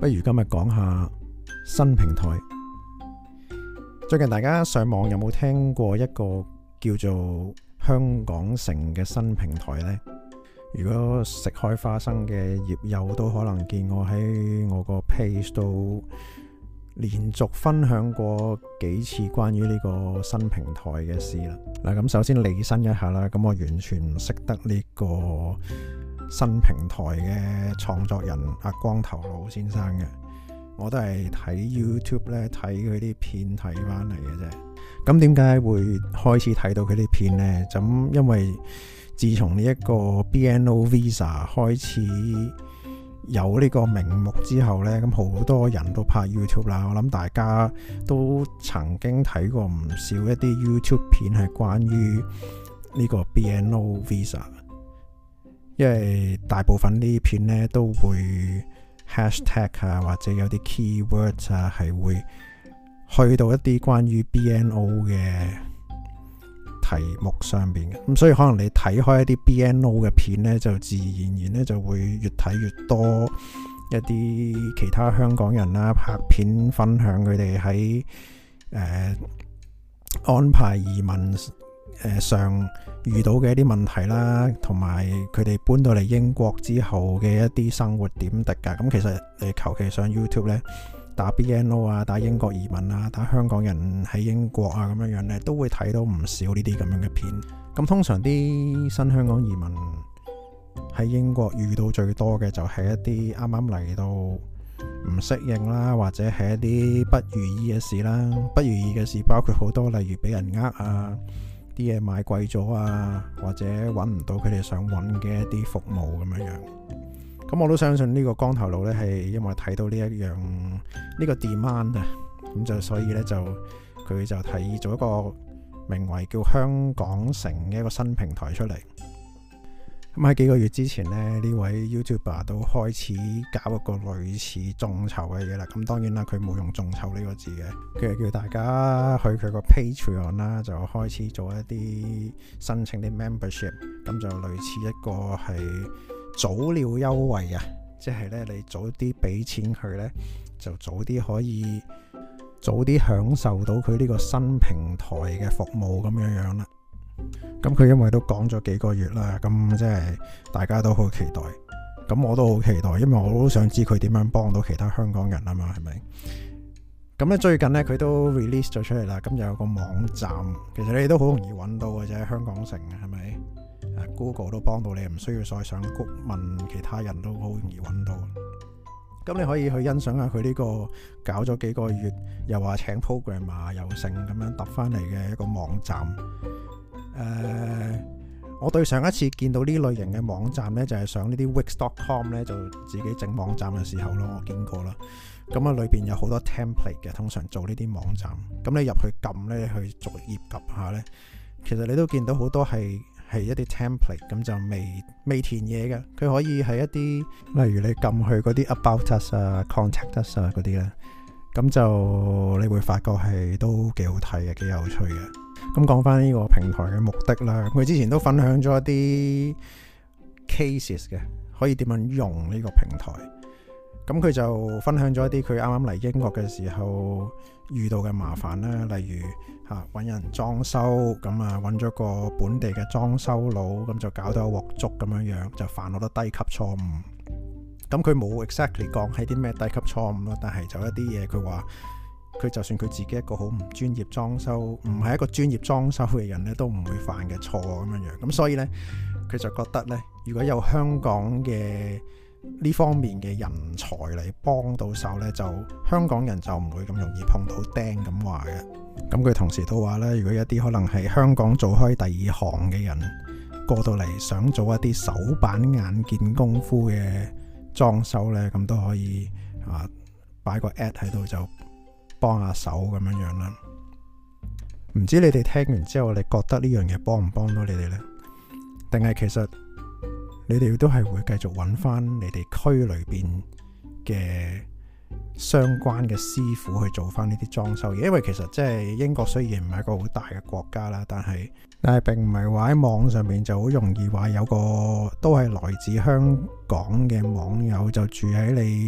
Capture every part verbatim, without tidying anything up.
不如今日講下新平台。最近大家上網有冇聽過一個叫做香港城嘅新平台呢？如果食開花生嘅業友都可能見我喺我個 page 度連續分享過幾次關於呢個新平台嘅事啦。嗱，咁首先理身一下啦，咁我完全唔識得呢個新平台嘅創作人阿光頭佬先生嘅，我都係睇 YouTube 咧睇佢啲片睇翻嚟嘅啫。咁點解會開始睇到佢啲片呢？咁因為自從呢一個 B N O Visa 開始有呢個名目之後呢，咁好多人都拍 YouTube 啦。我諗大家都曾經睇過唔少一啲 YouTube 片係關於呢個 B N O Visa， 因為大部分呢啲片呢都會 hashtag 啊，或者有啲 keywords 啊，係會去到一啲關於 B N O 嘅題目上邊嘅。咁所以可能你睇開一啲 B N O 嘅片呢，就自然而然咧就會越睇越多一啲其他香港人啦拍片分享佢哋喺誒安排移民誒、呃、上遇到嘅一啲問題啦，同埋佢哋搬到嚟英國之後嘅一啲生活點滴噶。咁其實你求其上 YouTube 呢，打 B N O 啊，打英國移民啊，打香港人喺英國啊，咁樣樣咧，都會睇到唔少呢啲咁樣嘅片。咁通常啲新香港移民喺英國遇到最多嘅就係一啲啱啱嚟到唔適應啦，或者係一啲不如意嘅事啦。不如意嘅事包括好多，例如俾人呃啊，啲嘢買貴咗啊，或者揾唔到佢哋想揾嘅一啲服務咁樣樣。咁我都相信呢個光頭佬呢係因為睇到呢一樣呢個 demand 啊，咁就所以呢，就佢就提議做一個名為叫香港城嘅一個新平台出嚟。咁喺幾個月之前呢，呢位 YouTuber 都開始搞一個類似眾籌嘅嘢啦。咁當然啦，佢冇用眾籌呢個字嘅，佢係叫大家去佢個 Patreon 啦，就開始做一啲申請啲 membership， 咁就類似一個係早鳥優惠啊，即係咧你早啲俾錢佢咧，就早啲可以早啲享受到佢呢個新平台嘅服務咁樣樣啦。咁佢因為都講咗幾個月啦，咁即係大家都好期待，咁我都好期待，因為我都想知佢點樣幫到其他香港人啊嘛，係咪？咁咧最近咧佢都 release 咗出嚟啦，咁就有個網站，其實你哋都好容易揾到嘅啫，香港城係咪？Google 都幫到你，唔需要再上谷問其他人都好容易揾到。咁你可以去欣賞下佢呢個搞咗幾個月，又話請 programmer 又成咁樣揼翻嚟嘅一個網站。誒、呃，我對上一次見到呢類型嘅網站呢，就係、是、上呢啲 Wix dot com 呢，就自己整網站嘅時候咯，我見過啦。咁啊，裏邊有好多 template 嘅，通常做呢啲網站。咁你入去撳呢，去逐頁撳下呢，其實你都見到好多係。係一啲 template， 咁就未未填嘢嘅，佢可以係一啲，例如你撳去嗰啲 about us 啊、contact us 啊嗰啲咧，咁就你會發覺係都幾好睇嘅，幾有趣嘅。咁講翻呢個平台嘅目的啦，佢之前都分享咗一啲 cases 嘅，可以點樣用呢個平台。咁佢就分享咗一啲佢啱啱嚟英國嘅時候遇到嘅麻煩啦，例如嚇揾人裝修，咁啊揾咗個本地嘅裝修佬，咁就搞到一鑊粥咁樣樣，就犯好多低級錯誤。咁佢冇 exactly 講係啲咩低級錯誤咯，但係就一啲嘢佢話，佢就算佢自己一個好唔專業裝修，唔係一個專業裝修嘅人咧，都唔會犯嘅錯咁樣樣。咁所以呢，佢就覺得呢，如果有香港嘅呢方面嘅人才嚟幫到手呢，就香港人就唔會咁容易碰到釘咁話嘅。咁佢同時都話呢，如果一啲可能係香港做開第二行嘅人過到嚟想做一啲手板眼見功夫嘅裝修呢，咁都可以啊擺個 ad 喺度就幫下手咁樣樣啦。唔知你哋聽完之後，你覺得呢樣嘢幫唔幫到你哋呢？定係其實你哋都係會繼續揾翻你哋區裏邊嘅相關嘅師傅去做翻呢啲裝修嘢？因為其實即係英國雖然唔係一個好大嘅國家啦，但係但係並唔係話喺網上面就好容易話有個都係來自香港嘅網友就住喺你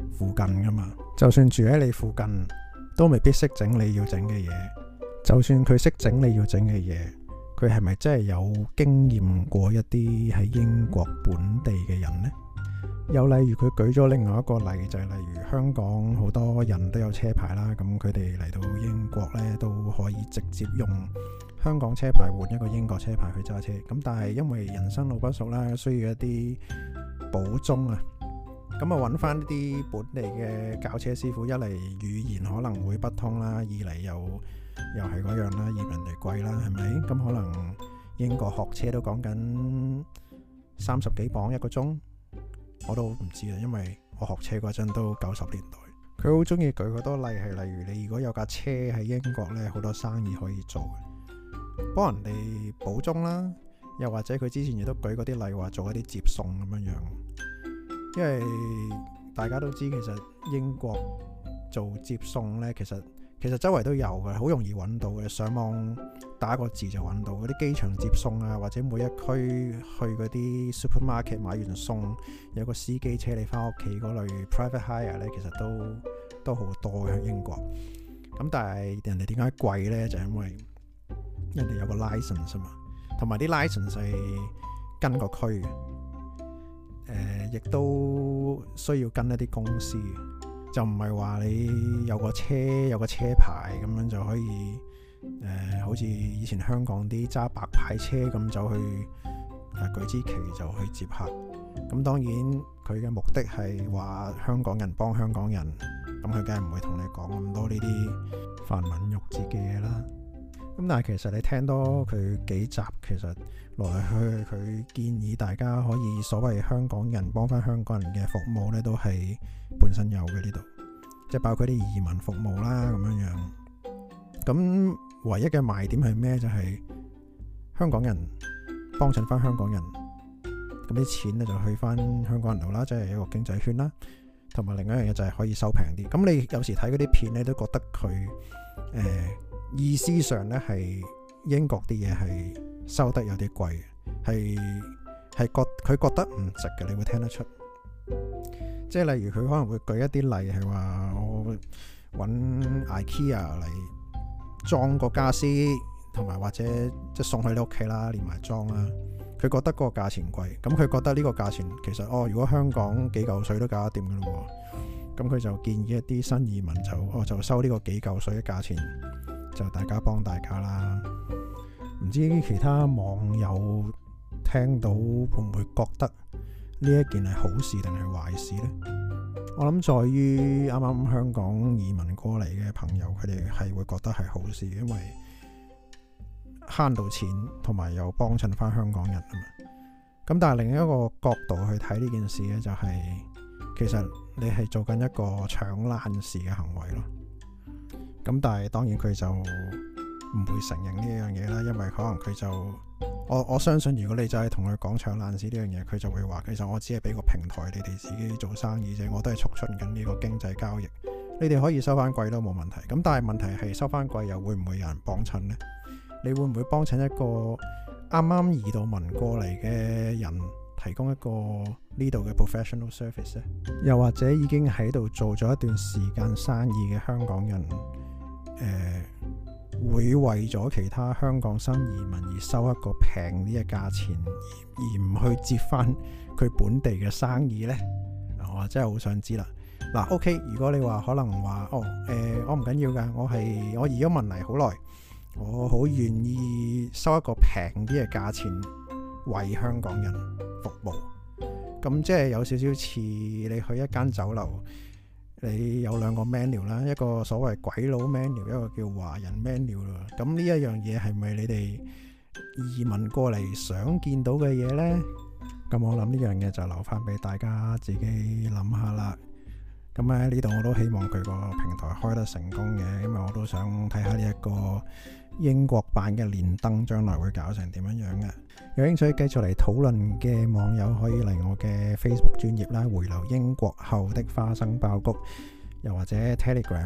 附近噶嘛。就算住喺你附近，都未必識整你要整嘅嘢。就算佢識整你要整嘅嘢，佢係咪真係有經驗過一啲喺英國本地嘅人呢？又例如佢舉咗另外一個例，就係例如香港好多人都有車牌啦，咁佢哋嚟到英國呢，都可以直接用香港車牌換一個英國車牌去揸車。咁但係因為人生路不熟啦，需要一啲補鐘啊，咁啊揾翻啲本地嘅教車師傅，一嚟語言可能會不通啦，二嚟又又係嗰樣啦，嫌人哋貴啦，係咪？咁可能英國學車都講緊三十幾磅一個鐘，我都唔知啊，因為我學車嗰陣都九十年代。佢好中意舉好多例，係例如你如果有架車喺英國呢，好多生意可以做嘅，幫人哋補鐘啦，又或者佢之前亦都舉嗰啲例，話做一啲接送咁樣樣。因為大家都知其實英國做接送呢，其實其實周圍都有嘅，好容易揾到嘅。上網打個字就揾到嗰啲機場接送啊，或者每一區去嗰啲 supermarket 買完餸，有個司機車你翻屋企嗰類 private hire 呢，其實都都好多喺英國。咁但係人哋點解貴呢？就係因為人哋有個 license 啊嘛，同埋啲 license 係跟個區嘅，誒，亦都需要跟一啲公司。就唔係話你有個車有個車牌咁樣就可以誒、呃，好似以前香港啲揸白牌車咁就去誒、呃、舉支旗就去接客。咁當然佢嘅目的係話香港人幫香港人，咁佢梗係唔會同你講咁多呢啲繁文縟節嘅嘢啦。咁但係其實你聽多佢幾集，其實來來去去佢建議大家可以所謂香港人幫翻香港人嘅服務呢，都係本身有嘅呢度，即係包括啲移民服務啦咁樣樣。咁唯一嘅賣點係咩？就係、是、香港人幫襯翻香港人，咁啲錢呢就去翻香港人度啦，即係一個經濟圈啦。同埋另一樣嘢就係可以收平啲。咁你有時睇嗰啲片呢，都覺得佢誒、呃、意思上呢係英國啲嘢係收得有啲貴嘅，係係覺佢覺得唔值嘅，你會聽得出。即係例如佢可能會舉一啲例，係話我揾 IKEA 嚟裝個家私，同埋或者即係送去你屋企啦，連埋裝啦。佢覺得嗰個價錢貴，咁佢覺得呢個價錢其實哦，如果香港幾嚿水都搞得掂嘅咯喎，咁佢就建議一啲新移民就哦就收呢個幾嚿水嘅價錢，就大家幫大家啦。唔知其他網友聽到會唔會覺得呢一件係好事定係壞事呢？我諗在於啱啱香港移民過嚟嘅朋友，佢哋係會覺得係好事，因為慳到錢，同埋又幫襯翻香港人啊嘛。咁但係另一個角度去睇呢件事呢，就係、是、其實你係做緊一個搶爛事嘅行為咯。咁但係當然佢就唔會承認呢樣嘢啦，因為可能佢就我我相信，如果你就係同佢講搶爛市呢樣嘢，佢就會話其實我只係俾個平台你哋自己做生意啫，我都係促進緊呢個經濟交易，你哋可以收翻貴都冇問題。咁但係問題係收翻貴又會唔會有人幫襯呢？你會唔會幫襯一個啱啱移到民過嚟嘅人提供一個呢度嘅 professional service 呢？又或者已經喺度做咗一段時間生意嘅香港人，誒、呃？會為咗其他香港新移民而收一個平啲嘅價錢，而唔去接翻佢本地嘅生意呢？我真係好想知啦。嗱 ，OK， 如果你話可能話哦，誒、呃，我唔緊要噶，我係我移咗民嚟好耐，我好願意收一個平啲嘅價錢為香港人服務。咁即係有少少似你去一間酒樓。你有兩個 menu 啦，一個所謂鬼佬 menu， 一個叫華人 menu 啦。咁呢一樣嘢係咪你哋移民過嚟想見到嘅嘢呢？咁我諗呢樣嘢就留翻俾大家自己諗下啦。咁喺呢度我都希望佢個平台開得成功嘅，因為我都想睇下呢一個英國版嘅連登將來會搞成點樣樣嘅。有興趣繼續嚟討論嘅網友可以嚟我嘅 Facebook 專頁啦，回流英國後的花生爆谷，又或者 Telegram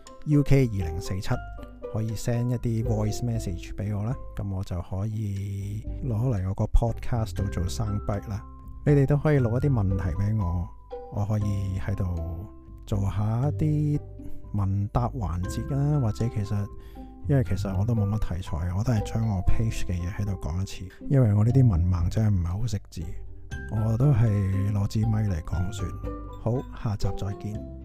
U K 二零四七可以 send 一啲 voice message 俾我啦，咁我就可以攞嚟我個 podcast 度做 soundbite 啦。你哋都可以錄一啲問題俾我，我可以喺度做下一啲問答環節啦，或者其實因為其實我都冇乜題材，我都係將我 page 嘅嘢喺度講一次，因為我呢啲文盲真係唔係好識字，我都係攞支咪嚟講算。好，下集再見。